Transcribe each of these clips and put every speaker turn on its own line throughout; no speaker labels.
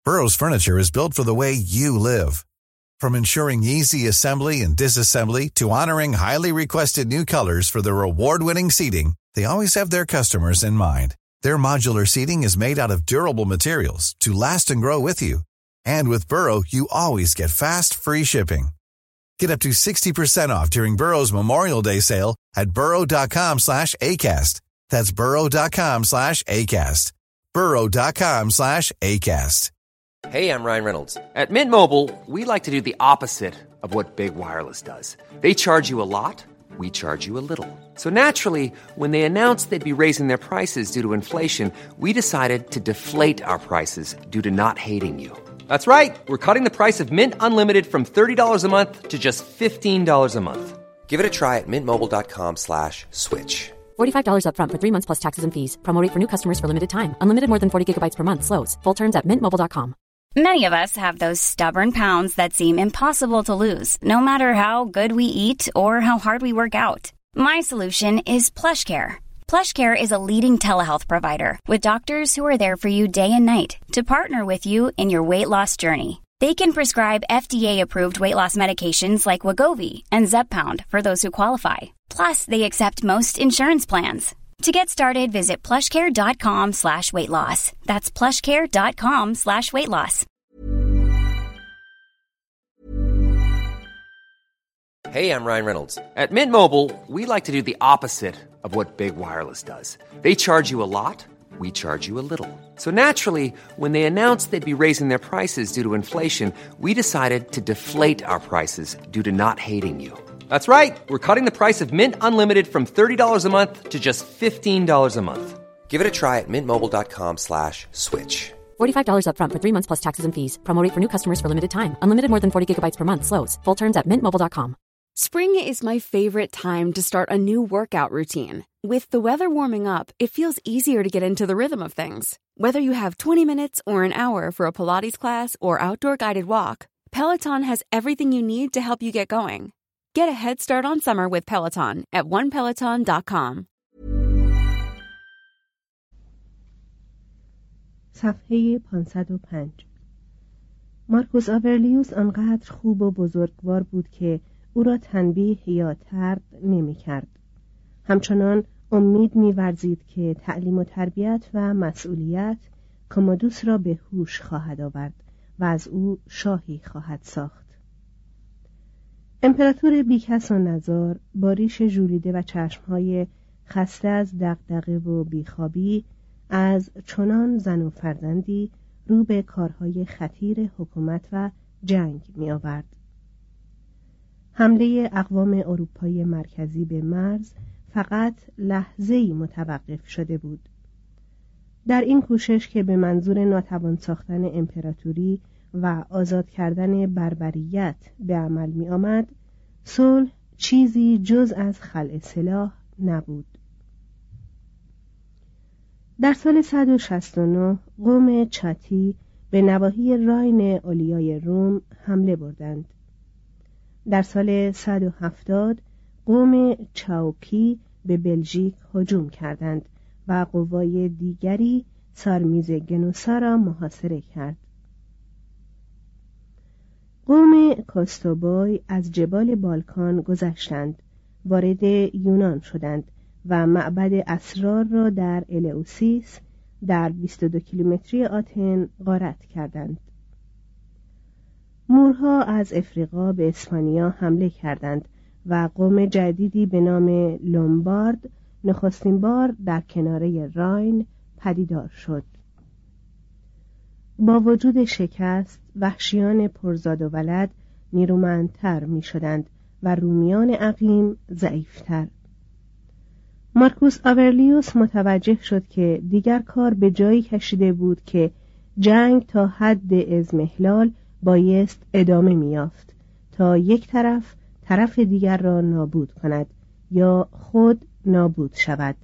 Burrow's furniture is built for the way you live. From ensuring easy assembly and disassembly to honoring highly requested new colors for their award-winning seating, they always have their customers in mind. Their modular seating is made out of durable materials to last and grow with you. And with Burrow, you always get fast, free shipping. Get up to 60% off during Burrow's Memorial Day sale at burrow.com/ACAST. That's burrow.com/ACAST. burrow.com/ACAST.
Hey, I'm Ryan Reynolds. At Mint Mobile, we like to do the opposite of what Big Wireless does. They charge you a lot, we charge you a little. So naturally, when they announced they'd be raising their prices due to inflation, we decided to deflate our prices due to not hating you. That's right. We're cutting the price of Mint Unlimited from $30 a month to just $15 a month. Give it a try at mintmobile.com/switch.
$45 up front for 3 months plus taxes and fees. Promo rate for new customers for limited time. Unlimited more than 40 gigabytes per month. Slows full terms at mintmobile.com.
Many of us have those stubborn pounds that seem impossible to lose, no matter how good we eat or how hard we work out. My solution is PlushCare. PlushCare is a leading telehealth provider with doctors who are there for you day and night to partner with you in your weight loss journey. They can prescribe FDA-approved weight loss medications like Wegovy and Zepbound for those who qualify. Plus, they accept most insurance plans. To get started, visit plushcare.com/weightloss. That's plushcare.com/weightloss.
Hey, I'm Ryan Reynolds. At Mint Mobile, we like to do the opposite of what Big Wireless does. They charge you a lot, we charge you a little. So naturally, when they announced they'd be raising their prices due to inflation, we decided to deflate our prices due to not hating you. That's right. We're cutting the price of Mint Unlimited from $30 a month to just $15 a month. Give it a try at mintmobile.com/switch.
$45 up front for 3 months plus taxes and fees. Promo rate for new customers for limited time. Unlimited more than 40 gigabytes per month. Slows full terms at mintmobile.com.
Spring is my favorite time to start a new workout routine. With the weather warming up, it feels easier to get into the rhythm of things. Whether you have 20 minutes or an hour for a Pilates class or outdoor guided walk, Peloton has everything you need to help you get going. Get a head start on summer with Peloton at onepeloton.com.
صفحه 505. مارکوس آورلیوس آنقدر خوب و بزرگوار بود که او را تنبیه یا طرد نمی کرد. همچنان امید می ورزید که تعلیم و تربیت و مسئولیت کمادوس را به هوش خواهد آورد و از او شاهی خواهد ساخت. امپراتور بیکس و نزار با ریش ژولیده و چشمهای خسته از دغدغه و بیخوابی از چنان زن و فرزندی رو به کارهای خطیر حکومت و جنگ می آورد. حمله اقوام اروپای مرکزی به مرز فقط لحظه‌ای متوقف شده بود. در این کوشش که به منظور ناتوان ساختن امپراتوری و آزاد کردن بربریت به عمل می آمد، صلح چیزی جز از خلع سلاح نبود. در سال 169 قوم چاتی به نواحی راین اولیای روم حمله بردند. در سال 170 قوم چاوکی به بلژیک هجوم کردند و قوای دیگری سارمیز گنوسا را محاصره کرد. قوم کاستوبوی از جبال بالکان گذشتند، وارد یونان شدند و معبد اسرار را در الئوسیس در 22 کیلومتری آتن غارت کردند. مورها از افریقا به اسپانیا حمله کردند و قوم جدیدی به نام لومبارد نخستین بار در کناره راین پدیدار شد. با وجود شکست، وحشیان پرزاد و ولد نیرومندتر می شدند و رومیان عقیم ضعیفتر. مارکوس آورلیوس متوجه شد که دیگر کار به جایی کشیده بود که جنگ تا حد اضمحلال بایست ادامه می‌یافت تا یک طرف دیگر را نابود کند یا خود نابود شود.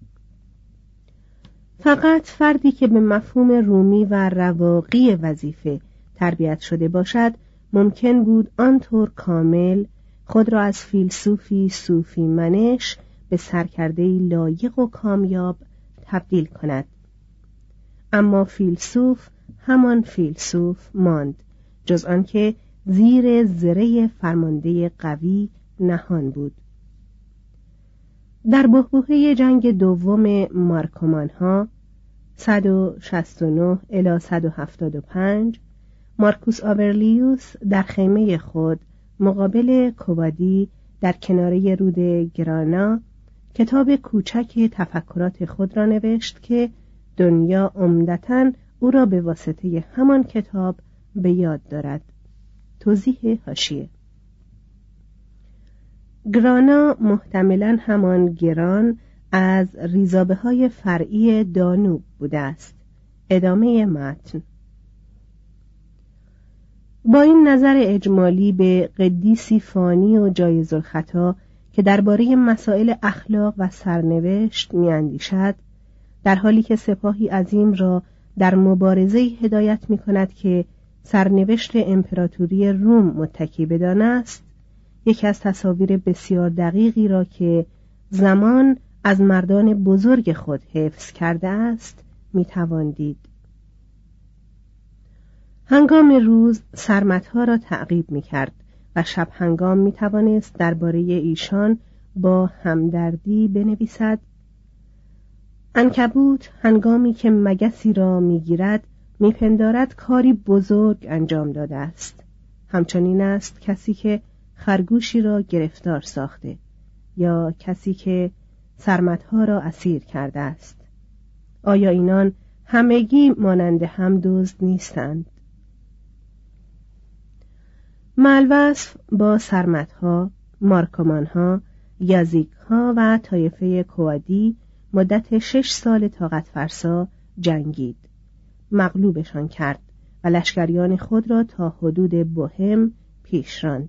فقط فردی که به مفهوم رومی و رواقی وظیفه تربیت شده باشد ممکن بود آنطور کامل خود را از فیلسوفی صوفی منش به سرکرده‌ای لایق و کامیاب تبدیل کند. اما فیلسوف همان فیلسوف ماند، جز آنکه زیر زره فرمانده قوی نهان بود. در بحبوحه جنگ دوم مارکومانها 169 الی 175 مارکوس آورلیوس در خیمه خود مقابل کوادی در کناره رود گرانا کتاب کوچک تفکرات خود را نوشت که دنیا عمدتاً او را به واسطه همان کتاب به یاد دارد. توضیح حاشیه: گرانا محتملاً همان گران از ریزابه های فرعی دانوب بوده است. ادامه متن. با این نظر اجمالی به قدیسی فانی و جایزالخطا که درباره مسائل اخلاق و سرنوشت می‌اندیشد، در حالی که سپاهی عظیم را در مبارزه هدایت می‌کند که سرنوشت امپراتوری روم متکی بدان است، یکی از تصاویر بسیار دقیقی را که زمان از مردان بزرگ خود حفظ کرده است می‌توان دید. هنگام روز سرمتها را تعقیب می‌کرد و شب هنگام می‌توانست درباره ایشان با همدردی بنویسد: عنکبوت هنگامی که مگسی را می‌گیرد می‌پندارد کاری بزرگ انجام داده است. همچنین است کسی که خرگوشی را گرفتار ساخته یا کسی که سرمتها را اسیر کرده است. آیا اینان همگی مانند هم دزد نیستند؟ ملوصف با سرمتها، مارکومانها، یازیکها و طایفه کوادی مدت 6 سال طاقت فرسا جنگید. مغلوبشان کرد و لشکریان خود را تا حدود بوهم پیش راند.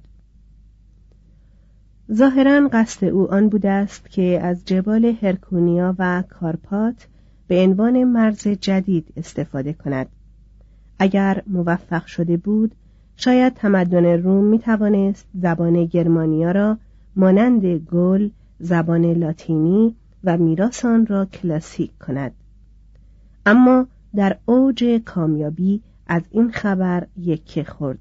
ظاهراً قصد او آن بوده است که از جبال هرکونیا و کارپات به عنوان مرز جدید استفاده کند. اگر موفق شده بود، شاید تمدن روم می توانست زبان گرمانیا را مانند گل، زبان لاتینی و میراث آن را کلاسیک کند. اما در اوج کامیابی از این خبر یکه خورد.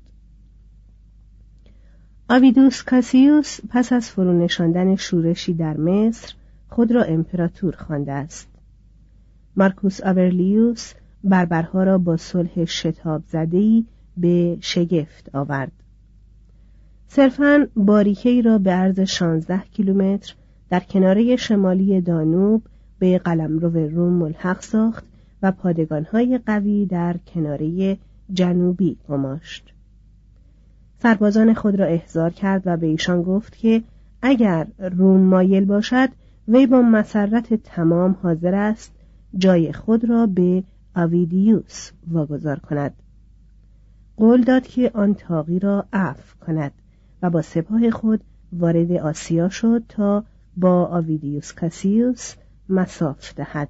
آویدوس کاسیوس پس از فرونشاندن شورشی در مصر خود را امپراتور خوانده است. مارکوس آورلیوس بربرها را با صلح شتاب زده‌ای به شگفت آورد. صرفاً باریکه‌ای را به عرض 16 کیلومتر در کناره شمالی دانوب به قلمرو روم ملحق ساخت و پادگان‌های قوی در کناره جنوبی گماشت. سربازان خود را احضار کرد و به ایشان گفت که اگر روم مایل باشد وی با مسرت تمام حاضر است جای خود را به آویدیوس واگذار کند. قول داد که آن طاغی را عفو کند و با سپاه خود وارد آسیا شد تا با آویدیوس کاسیوس مصاف دهد.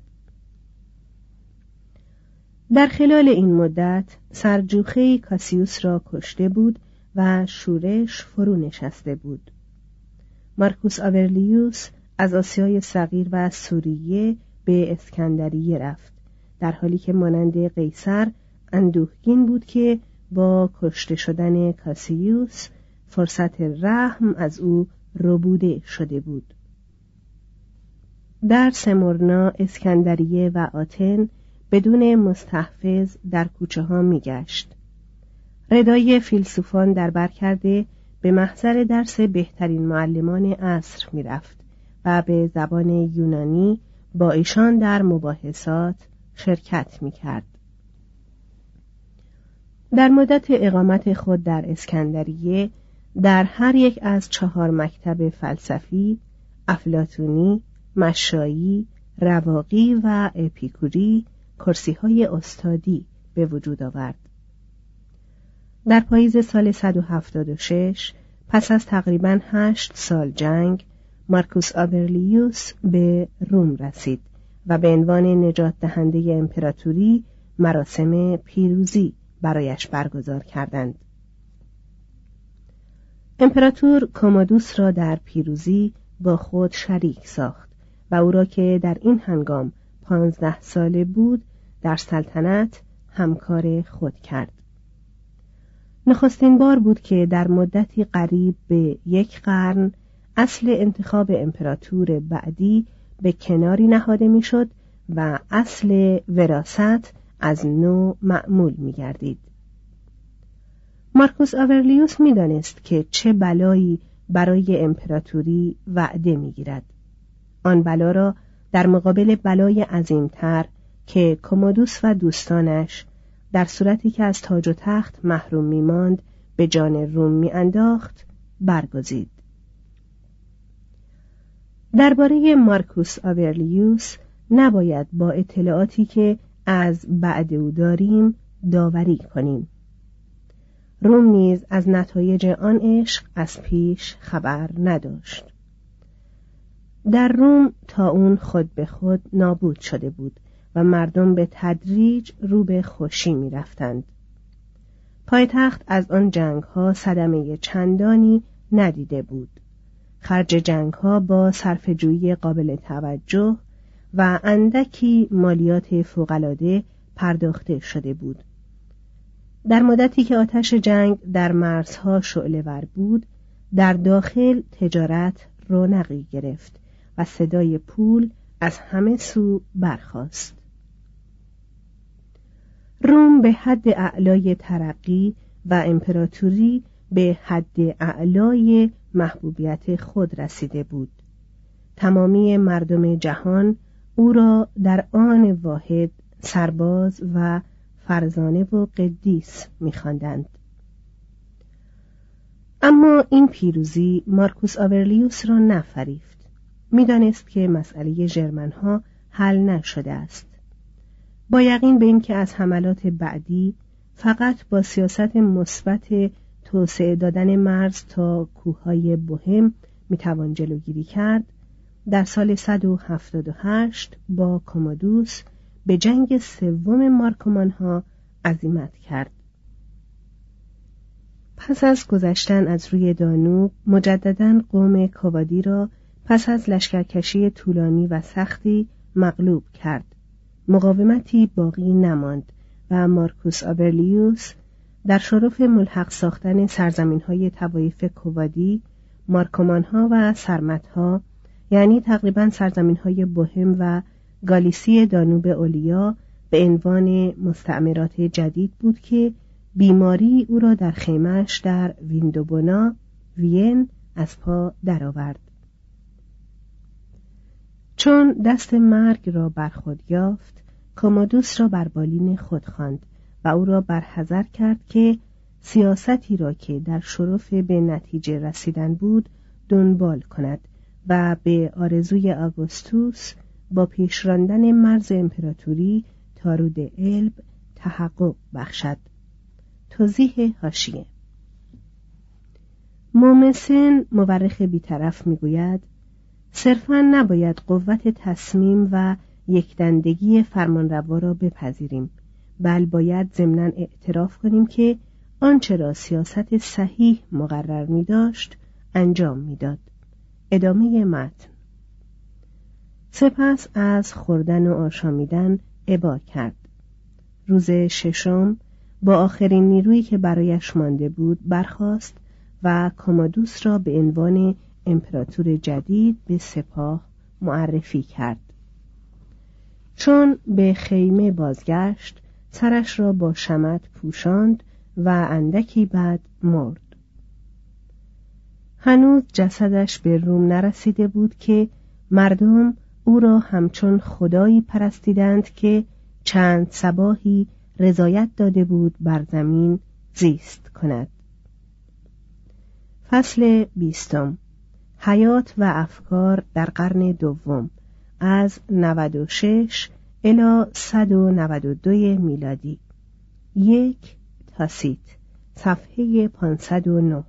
در خلال این مدت سرجوخه کاسیوس را کشته بود و شورش فرو نشسته بود. مارکوس آورلیوس از آسیای صغیر و سوریه به اسکندریه رفت، در حالی که مانند قیصر اندوهگین بود که با کشته شدن کاسیوس فرصت رحم از او ربوده شده بود. در سمرنا، اسکندریه و آتن بدون مستحفظ در کوچه ها می گشت. ردای فیلسوفان در بر کرده به محضر درس بهترین معلمان عصر می رفت و به زبان یونانی با ایشان در مباحثات شرکت می کرد. در مدت اقامت خود در اسکندریه در هر یک از 4 مکتب فلسفی، افلاطونی، مشایی، رواقی و اپیکوری کرسی‌های استادی به وجود آورد. در پاییز سال 176 پس از تقریباً 8 سال جنگ مارکوس آورلیوس به روم رسید و به عنوان نجات دهنده امپراتوری مراسم پیروزی برایش برگزار کردند. امپراتور کومودوس را در پیروزی با خود شریک ساخت و او را که در این هنگام 15 ساله بود در سلطنت همکار خود کرد. نخستین بار بود که در مدتی قریب به 1 قرن اصل انتخاب امپراتور بعدی به کناری نهاده میشد و اصل وراثت از نو معمول می‌گردید. مارکوس آورلیوس می‌دانست که چه بلایی برای امپراتوری وعده می‌گیرد. آن بلا را در مقابل بلای عظیمتر که کومودوس و دوستانش در صورتی که از تاج و تخت محروم می‌ماند به جان روم می‌انداخت برگزید. درباره مارکوس آورلیوس نباید با اطلاعاتی که از بعد او داریم داوری کنیم. روم نیز از نتایج آن عشق از پیش خبر نداشت. در روم طاعون خود به خود نابود شده بود و مردم به تدریج رو به خوشی می رفتند. پایتخت از آن جنگ‌ها صدمه چندانی ندیده بود. خرج جنگ‌ها با صرفه‌جویی قابل توجه و اندکی مالیات فوق‌العاده پرداخته شده بود. در مدتی که آتش جنگ در مرزها شعله‌ور بود، در داخل تجارت رونقی گرفت و صدای پول از همه سو برخاست. روم به حد اعلای ترقی و امپراتوری به حد اعلای محبوبیت خود رسیده بود. تمامی مردم جهان او را در آن واحد سرباز و فرزانه و قدیس می‌خواندند. اما این پیروزی مارکوس آورلیوس را نفریفت. می‌دانست که مسئله ژرمن‌ها حل نشده است. با یقین به اینکه از حملات بعدی فقط با سیاست مثبت توسعه دادن مرز تا کوههای بوهم میتوان جلوگیری کرد، در سال 178 با کومودوس به جنگ سوم مارکومانها عزیمت کرد. پس از گذشتن از روی دانوب مجدداً قوم کوادی را پس از لشکرکشی طولانی و سختی مغلوب کرد. مقاومتی باقی نماند و مارکوس آورلیوس در شرف ملحق ساختن سرزمین‌های طوایف کوادی، مارکومانها و سرمتها، یعنی تقریباً سرزمین‌های بوهم و گالیسی دانوب اولیا، به عنوان مستعمرات جدید بود که بیماری او را در خیمه‌اش در ویندوبونا، وین، از پا درآورد. چون دست مرگ را بر خود یافت، کومودوس را بر بالین خود خواند و او را برحذر کرد که سیاستی را که در شرف به نتیجه رسیدن بود دنبال کند و به آرزوی آگوستوس با پیش راندن مرز امپراتوری تا رود الب تحقق بخشد. توضیح حاشیه: مومسن مورخ بیطرف میگوید صرفاً نباید قوت تصمیم و یکدندگی فرمانروا را بپذیریم، بل باید ضمناً اعتراف کنیم که آنچه را سیاست صحیح مقرر می داشت انجام می داد. ادامه متن. سپس از خوردن و آشامیدن ابا کرد. روز ششم با آخرین نیرویی که برایش مانده بود برخاست و کومودوس را به عنوان امپراتور جدید به سپاه معرفی کرد. چون به خیمه بازگشت، سرش را با شمع پوشاند و اندکی بعد مرد. هنوز جسدش به روم نرسیده بود که مردم او را همچون خدایی پرستیدند که چند صباحی رضایت داده بود بر زمین زیست کند. فصل 20. حیات و افکار در قرن دوم، از 96 الی 192 میلادی. 1 تاسیت، صفحه 509.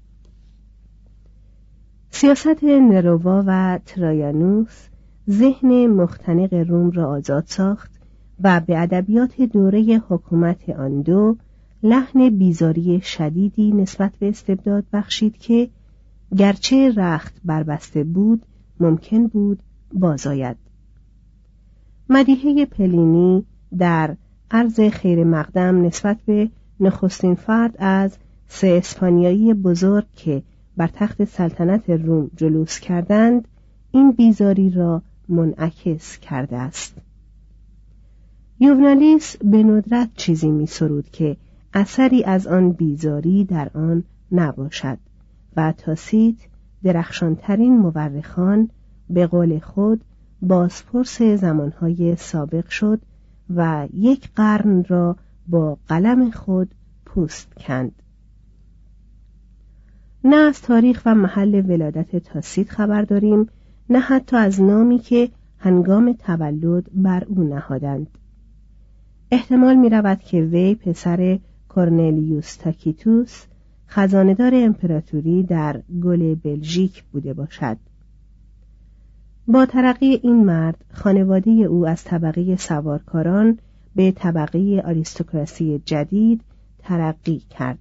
سیاست نرووا و ترایانوس ذهن مختنق روم را آزاد ساخت و به ادبیات دوره حکومت آن دو لحن بیزاری شدیدی نسبت به استبداد بخشید که گرچه رخت بربسته بود ممکن بود بازآید. مدیحه پلینی در عرض خیر مقدم نسبت به نخستین فرد از 3 اسپانیایی بزرگ که بر تخت سلطنت روم جلوس کردند این بیزاری را منعکس کرده است. یوونالیس به ندرت چیزی می سرود که اثری از آن بیزاری در آن نباشد و تاسیت درخشانترین مورخان به قول خود بازپرس زمانهای سابق شد و 1 قرن را با قلم خود پوست کند. نه از تاریخ و محل ولادت تاسیت خبر داریم، نه حتی از نامی که هنگام تولد بر او نهادند. احتمال می رود که وی پسر کورنلیوس تاکیتوس خزانه‌دار امپراتوری در گل بلژیک بوده باشد. با ترقی این مرد خانواده او از طبقه سوارکاران به طبقه آریستوکراسی جدید ترقی کرد.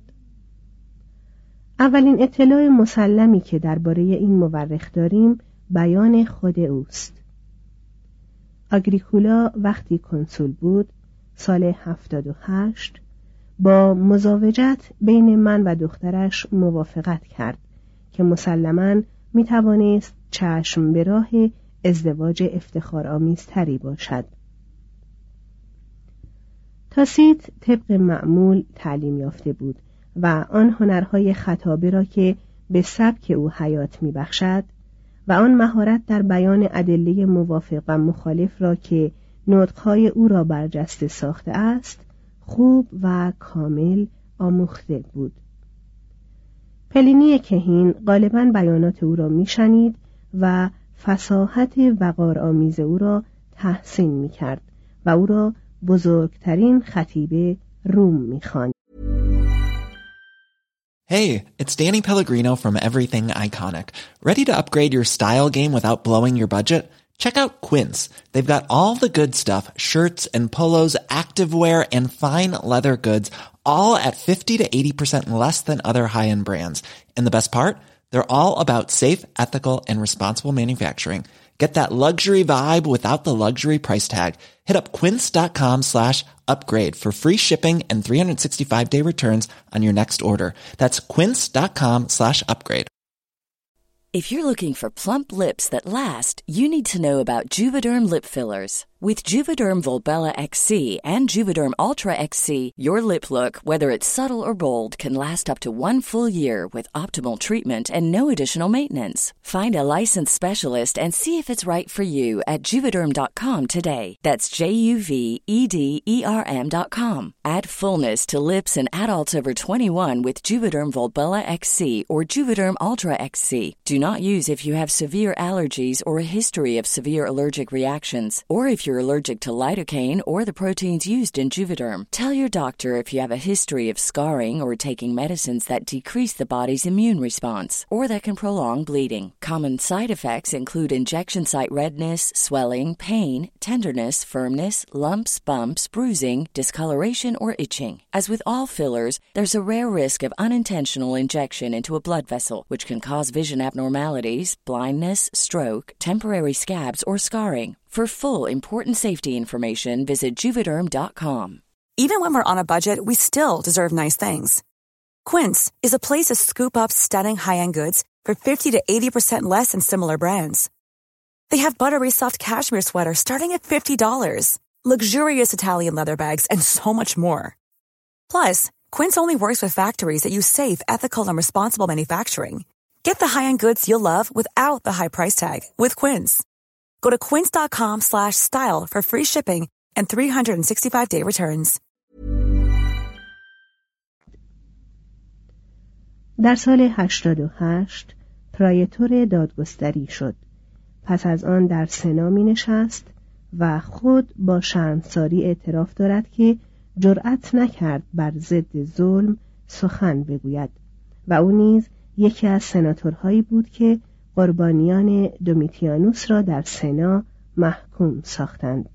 اولین اطلاع مسلمی که درباره این مورخ داریم بیان خود اوست. آگریکولا وقتی کنسول بود سال 78 با مزاوجت بین من و دخترش موافقت کرد که مسلماً می توانست چشم به راه ازدواج افتخارآمیزتری باشد. تاسیت طبق معمول تعلیم یافته بود و آن هنرهای خطابه را که به سبک او حیات می بخشد و آن مهارت در بیان ادله موافق و مخالف را که نطقهای او را برجسته ساخته است خوب و کامل آموخته بود. پلینی کهین غالباً بیانات او را میشنید و فصاحت وقارآمیز او را تحسین میکرد و او را بزرگترین خطیب روم میخواند.
Hey, it's Danny Pellegrino from Everything Iconic. Ready to upgrade your style game without blowing your budget? Check out Quince. They've got all the good stuff, shirts and polos, activewear, and fine leather goods, all at 50 to 80% less than other high-end brands. And the best part? They're all about safe, ethical, and responsible manufacturing. Get that luxury vibe without the luxury price tag. Hit up quince.com/upgrade for free shipping and 365-day returns on your next order. That's quince.com/upgrade.
If you're looking for plump lips that last, you need to know about Juvederm lip fillers. With Juvederm Volbella XC and Juvederm Ultra XC, your lip look, whether it's subtle or bold, can last up to 1 full year with optimal treatment and no additional maintenance. Find a licensed specialist and see if it's right for you at Juvederm.com today. That's JUVEDERM.com. Add fullness to lips in adults over 21 with Juvederm Volbella XC or Juvederm Ultra XC. Do not use if you have severe allergies or a history of severe allergic reactions, or if you're allergic to lidocaine or the proteins used in Juvederm. Tell your doctor if you have a history of scarring or taking medicines that decrease the body's immune response or that can prolong bleeding. Common side effects include injection site redness, swelling, pain, tenderness, firmness, lumps, bumps, bruising, discoloration, or itching. As with all fillers, there's a rare risk of unintentional injection into a blood vessel, which can cause vision abnormalities, blindness, stroke, temporary scabs, or scarring. For full important safety information, visit Juvederm.com.
Even when we're on a budget, we still deserve nice things. Quince is a place to scoop up stunning high-end goods for 50 to 80% less than similar brands. They have buttery soft cashmere sweaters starting at $50, luxurious Italian leather bags, and so much more. Plus, Quince only works with factories that use safe, ethical, and responsible manufacturing. Get the high-end goods you'll love without the high price tag with Quince. Go to quince.com/style for free shipping and 365-day returns.
در سال 88 پرایتور دادگستری شد. پس از آن در سنا می نشست و خود با شرمساری اعتراف دارد که جرأت نکرد بر ضد ظلم سخن بگوید و او نیز یکی از سناتورهایی بود که قربانیان دومیتیانوس را در سنا محکوم ساختند.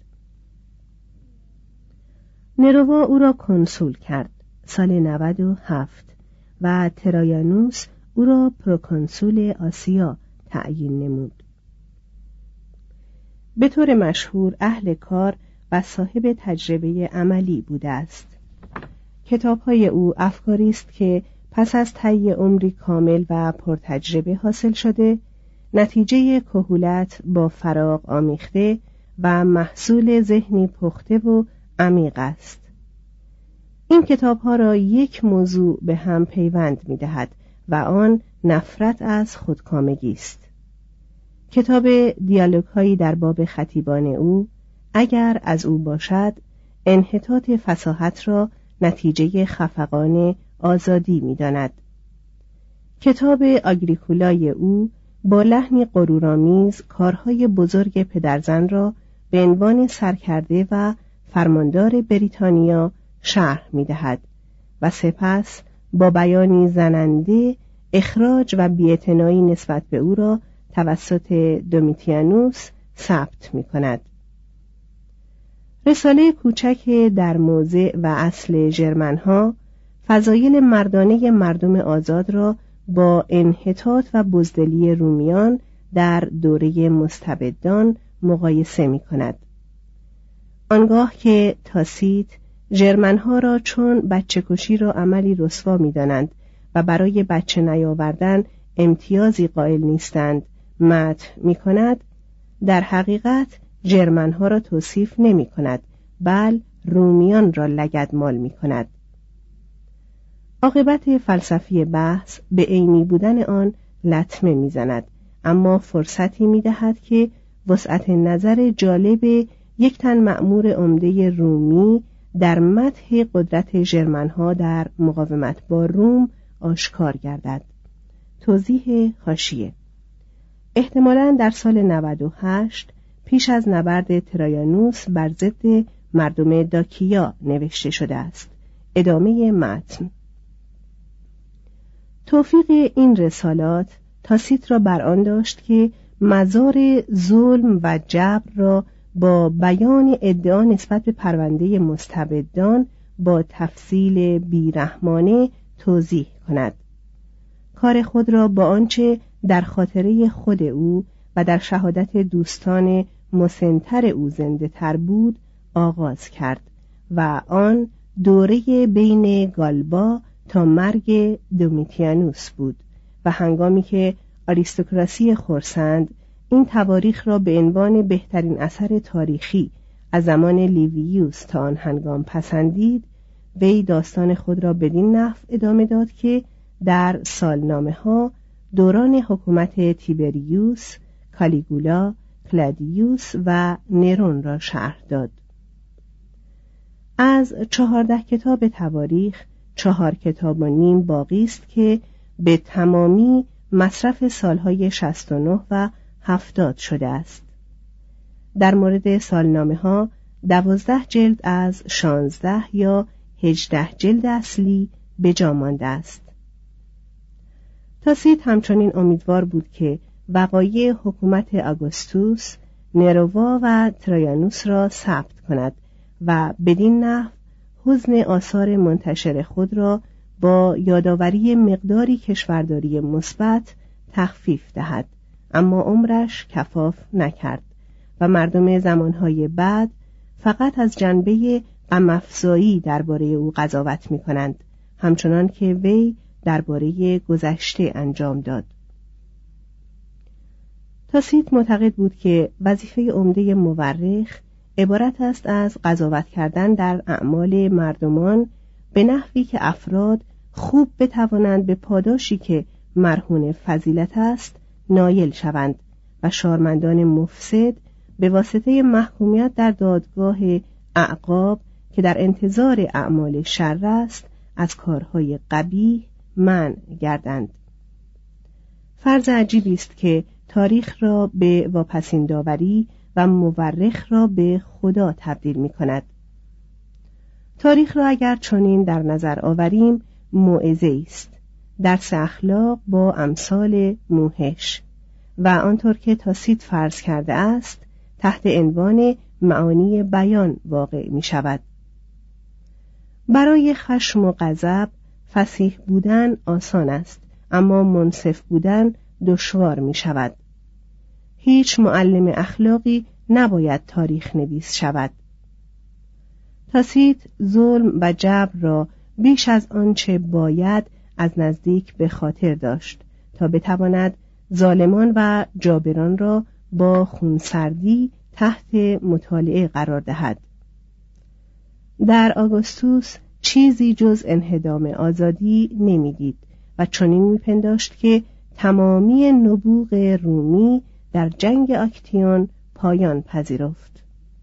نروا او را کنسول کرد سال 97 و ترایانوس او را پروکنسول آسیا تعیین نمود. به طور مشهور اهل کار و صاحب تجربه عملی بوده است. کتاب‌های او افکاری است که پس از طی عمری کامل و پرتجربه حاصل شده، نتیجه کهولت با فراغ آمیخته و محصول ذهنی پخته و عمیق است. این کتاب‌ها را یک موضوع به هم پیوند می‌دهد و آن نفرت از خودکامگی است. کتاب دیالوگ‌هایی در باب خطیبان او اگر از او باشد، انحطاط فصاحت را نتیجه خفقان آزادی می‌داند. کتاب آگریکولای او با لحنی غرورآمیز کارهای بزرگ پدرزن را به عنوان سرکرده و فرماندار بریتانیا شرح می‌دهد و سپس با بیانی زننده اخراج و بی‌اعتنایی نسبت به او را توسط دومیتیانوس ثبت می‌کند. رساله کوچک در موضع و اصل ژرمن‌ها فضایل مردانه مردم آزاد را با انحطاط و بزدلی رومیان در دوره مستبدان مقایسه می‌کند. آنگاه که تاسیت ژرمن‌ها را چون بچه‌کشی را عملی رسوا می‌دانند و برای بچه نیاوردن امتیازی قائل نیستند مدح می‌کند، در حقیقت ژرمن‌ها را توصیف نمی‌کند، بل رومیان را لگدمال می‌کند. عاقبت فلسفی بحث به عینی بودن آن لطمه می‌زند، اما فرصتی می‌دهد که وسعت نظر جالب یک تن مأمور عمده رومی در مدح قدرت ژرمن‌ها در مقاومت با روم آشکار گردد. توضیح حاشیه: احتمالاً در سال 98 پیش از نبرد ترایانوس بر ضد مردم داکیا نوشته شده است. ادامه متن. توفیق این رسالات تاسیت را بر آن داشت که مزار ظلم و جبر را با بیان ادعا نسبت به پرونده مستبدان با تفصیل بیرحمانه توضیح کند. کار خود را با آنچه در خاطره خود او و در شهادت دوستان مسنتر او زنده تر بود آغاز کرد و آن دوره بین گالبا تا مرگ دومیتیانوس بود و هنگامی که آریستوکراسی خرسند این تواریخ را به عنوان بهترین اثر تاریخی از زمان لیویوس تا آن هنگام پسندید، وی داستان خود را بدین نحو ادامه داد که در سالنامه‌ها دوران حکومت تیبریوس، کالیگولا، کلادیوس و نرون را شرح داد. از 14 کتاب تواریخ 4 کتاب و نیم باقی است که به تمامی مصرف سالهای 69 و 70 شده است. در مورد سالنامه‌ها 12 جلد از 16 یا 18 جلد اصلی به جا مانده است. تاسیت همچنین امیدوار بود که وقایع حکومت آگوستوس، نروا و ترایانوس را ثبت کند و بدین نحو حزن آثار منتشر خود را با یادآوری مقداری کشورداری مثبت تخفیف دهد، اما عمرش کفاف نکرد و مردم زمانهای بعد فقط از جنبه غم‌افزایی درباره او قضاوت می‌کنند، همچنان که وی درباره گذشته انجام داد. تاسیت معتقد بود که وظیفه عمده مورخ عبارت است از قضاوت کردن در اعمال مردمان به نحوی که افراد خوب بتوانند به پاداشی که مرهون فضیلت است نایل شوند و شارمندان مفسد به واسطه محکومیت در دادگاه اعقاب که در انتظار اعمال شر است از کارهای قبیح منع گردند. فرض عجیبی است که تاریخ را به واپسین داوری و مورخ را به خدا تبدیل می کند. تاریخ را اگر چنین در نظر آوریم موعظه است، درس اخلاق با امثال موحش و آنطور که تاسیت فرض کرده است تحت عنوان معانی بیان واقع می شود. برای خشم و غضب فصیح بودن آسان است، اما منصف بودن دشوار می شود. هیچ معلم اخلاقی نباید تاریخ نویس شود. تاسیت ظلم و جبر را بیش از آنچه باید از نزدیک به خاطر داشت تا بتواند ظالمان و جابران را با خونسردی تحت مطالعه قرار دهد. در آگوستوس چیزی جز انهدام آزادی نمیدید و چنین میپنداشت که تمامی نبوغ رومی در جنگ آکتیون پایان پذیرفت.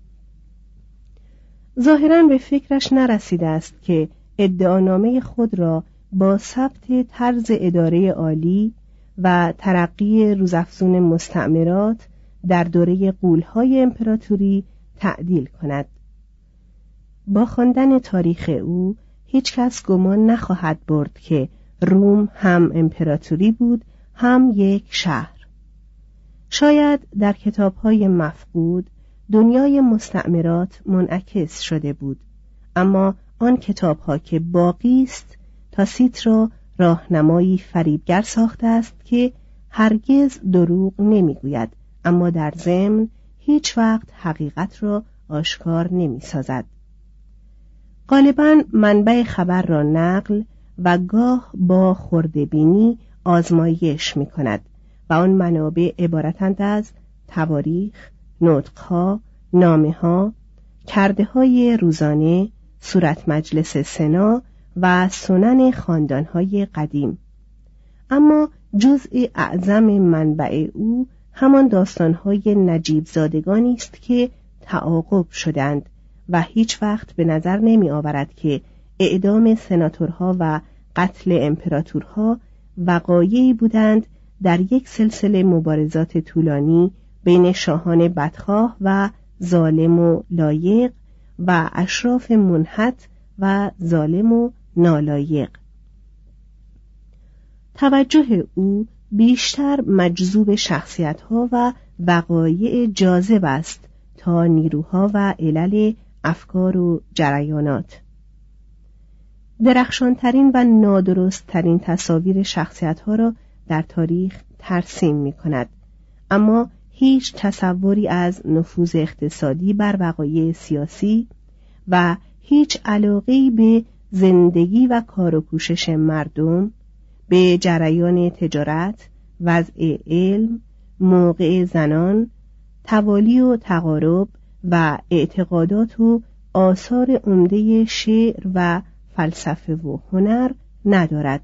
ظاهراً به فکرش نرسیده است که ادعانامه خود را با ثبت طرز اداره عالی و ترقی روزافزون مستعمرات در دوره غول‌های امپراتوری تعدیل کند. با خواندن تاریخ او هیچ کس گمان نخواهد برد که روم هم امپراتوری بود هم یک شهر. شاید در کتاب‌های مفقود دنیای مستعمرات منعکس شده بود، اما آن کتاب‌ها که باقی است تاسیت را راهنمایی فریبگر ساخته است که هرگز دروغ نمیگوید، اما در ضمن هیچ وقت حقیقت را آشکار نمی‌سازد. غالباً منبع خبر را نقل و گاه با خرده‌بینی آزمایش می‌کند و آن منابع عبارتند از تواریخ، نطق‌ها، نامه‌ها، کرده‌های روزانه، صورت مجلس سنا و سنن خاندان‌های قدیم. اما جزء اعظم منبع او همان داستان‌های نجیب زادگانی است که تعاقب شدند و هیچ وقت به نظر نمی آورد که اعدام سناتورها و قتل امپراتورها وقایعی بودند در یک سلسله مبارزات طولانی بین شاهان بدخواه و ظالم و لایق و اشراف منحط و ظالم و نالایق. توجه او بیشتر مجذوب شخصیت‌ها و وقایع جاذب است تا نیروها و علل افکار و جریانات. درخشانترین و نادرستترین تصاویر شخصیت‌ها را در تاریخ ترسیم می‌کند، اما هیچ تصوری از نفوذ اقتصادی بر وقایع سیاسی و هیچ علاقه‌ای به زندگی و کار و کوشش مردم، به جریان تجارت، وضع علم، موقع زنان، توالی و تقارب و اعتقادات و آثار عمده شعر و فلسفه و هنر ندارد.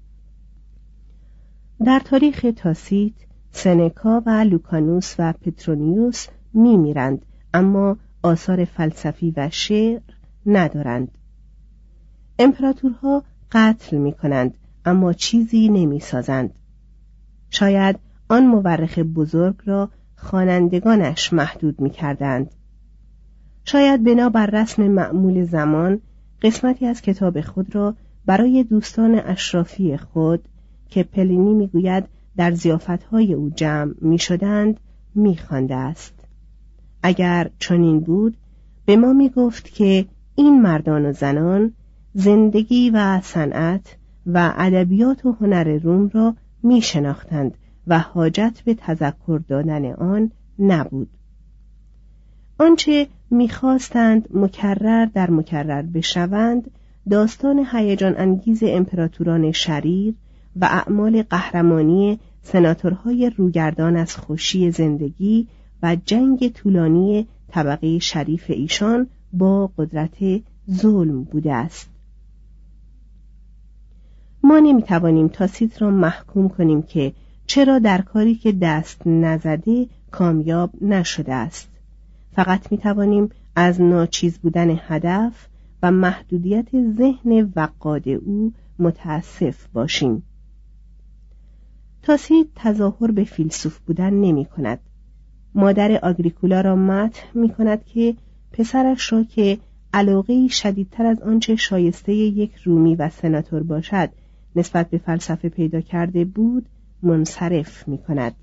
در تاریخ تاسیت، سنکا و لوکانوس و پترونیوس می‌میرند، اما آثار فلسفی و شعر ندارند. امپراتورها قتل می‌کنند، اما چیزی نمی‌سازند. شاید آن مورخ بزرگ را خوانندگانش محدود می‌کردند. شاید بنابر رسم معمول زمان قسمتی از کتاب خود را برای دوستان اشرافی خود که پلینی می‌گوید در ضیافت‌های او جمع می‌شدند می‌خوانده است. اگر چنین بود به ما می‌گفت که این مردان و زنان زندگی و صنعت و ادبیات و هنر روم را می‌شناختند و حاجت به تذکر دادن آن نبود. آنچه می‌خواستند مکرر در مکرر بشوند داستان هیجان انگیز امپراتوران شریر و اعمال قهرمانی سناتورهای روگردان از خوشی زندگی و جنگ طولانی طبقه شریف ایشان با قدرت ظلم بوده است. ما نمی‌توانیم تاسیت را محکوم کنیم که چرا در کاری که دست نزده کامیاب نشده است. فقط می‌توانیم از ناچیز بودن هدف و محدودیت ذهن وقاد او متاسف باشیم. تاسیت تظاهر به فیلسوف بودن نمی کند. مادر آگریکولا را مدح می کند که پسرش را که علاقه‌ای شدیدتر از آنچه شایسته یک رومی و سناتور باشد نسبت به فلسفه پیدا کرده بود منصرف می کند.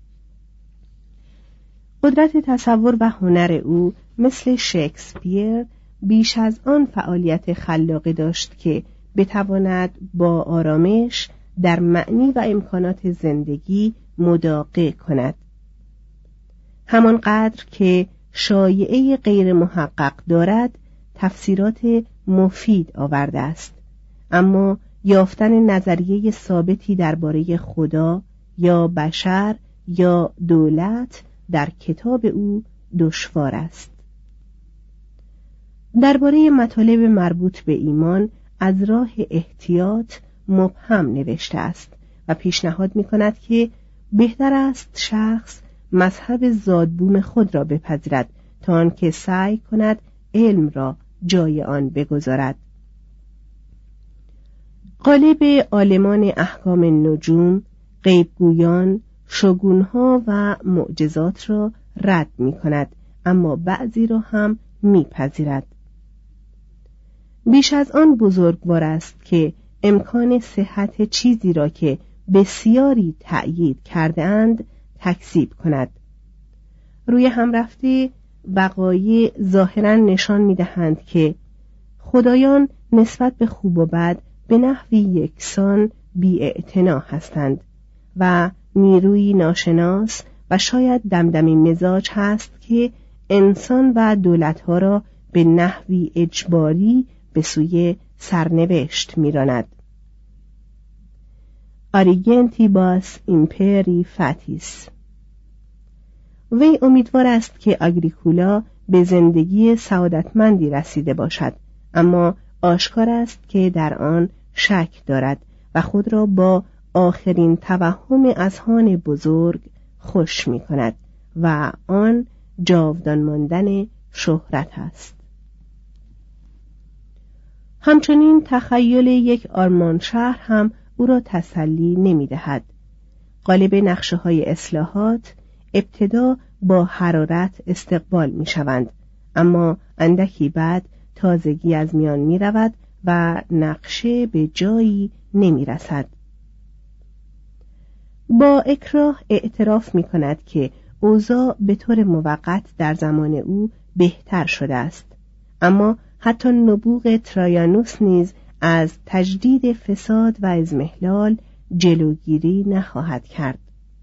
قدرت تصور و هنر او مثل شکسپیر بیش از آن فعالیت خلاقه داشت که بتواند با آرامش در معنی و امکانات زندگی مداقه کند. همانقدر که شایعه غیر محقق دارد تفسیرات مفید آورده است، اما یافتن نظریه ثابتی درباره خدا یا بشر یا دولت در کتاب او دشوار است. درباره مطالب مربوط به ایمان از راه احتیاط مبهم نوشته است و پیشنهاد می‌کند که بهتر است شخص مذهب زادبوم خود را بپذیرد تا آنکه سعی کند علم را جای آن بگذارد. غالب عالمان احکام نجوم، غیبگویان، شگونها و معجزات را رد می‌کند، اما بعضی را هم می‌پذیرد. بیش از آن بزرگوار است که امکان صحت چیزی را که بسیاری تأیید کرده اند تکذیب کند. روی هم رفته وقایع ظاهراً نشان می‌دهند که خدایان نسبت به خوب و بد به نحوی یکسان بی‌اعتنا هستند و نیروی ناشناس و شاید دمدمی مزاج هست که انسان و دولتها را به نحوی اجباری به سوی سرنوشت می‌راند. آریگنتیباس ایمپری فاتیس. وی امیدوار است که آگریکولا به زندگی سعادتمندی رسیده باشد، اما آشکار است که در آن شک دارد و خود را با آخرین توهم اذهان بزرگ خوش می کند و آن جاودان ماندن شهرت است. همچنین تخیل یک آرمان شهر هم او را تسلی نمی دهد. غالب نقشه های اصلاحات ابتدا با حرارت استقبال می شوند، اما اندکی بعد تازگی از میان می رود و نقشه به جایی نمی رسد. با اکراه اعتراف می کند که اوضاع به طور موقت در زمان او بهتر شده است، اما حتی نبوغ ترایانوس نیز از تجدید فساد و اضمحلال جلوگیری نخواهد کرد.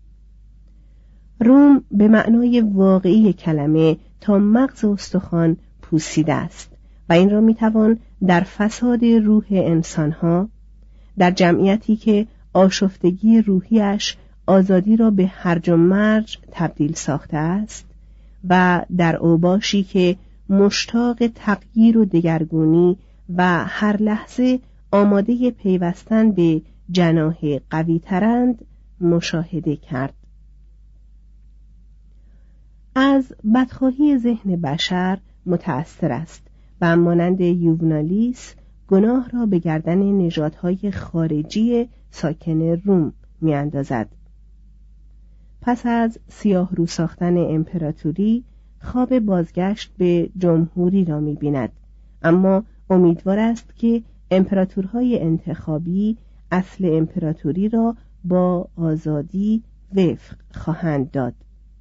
روم به معنای واقعی کلمه تا مغز استخوان پوسیده است و این را میتوان در فساد روح انسانها، در جمعیتی که آشفتگی روحیش آزادی را به هرج و مرج تبدیل ساخته است، و در اوباشی که مشتاق تغییر و دگرگونی و هر لحظه آماده پیوستن به جناح قوی ترند مشاهده کرد. از بدخواهی ذهن بشر متأثر است و مانند یوونالیس گناه را به گردن نژادهای خارجی ساکن روم می‌اندازد. پس از سیاه رو ساختن امپراتوری خواب بازگشت به جمهوری را می‌بیند، اما امیدوار است که امپراتورهای انتخابی اصل امپراتوری را با آزادی وفق خواهند داد.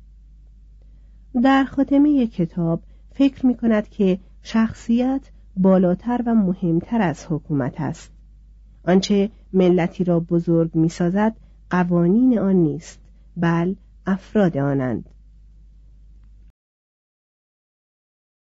در خاتمه کتاب فکر می کند که شخصیت بالاتر و مهمتر از حکومت است. آنچه ملتی را بزرگ می سازد قوانین آن نیست، بل افراد آنند.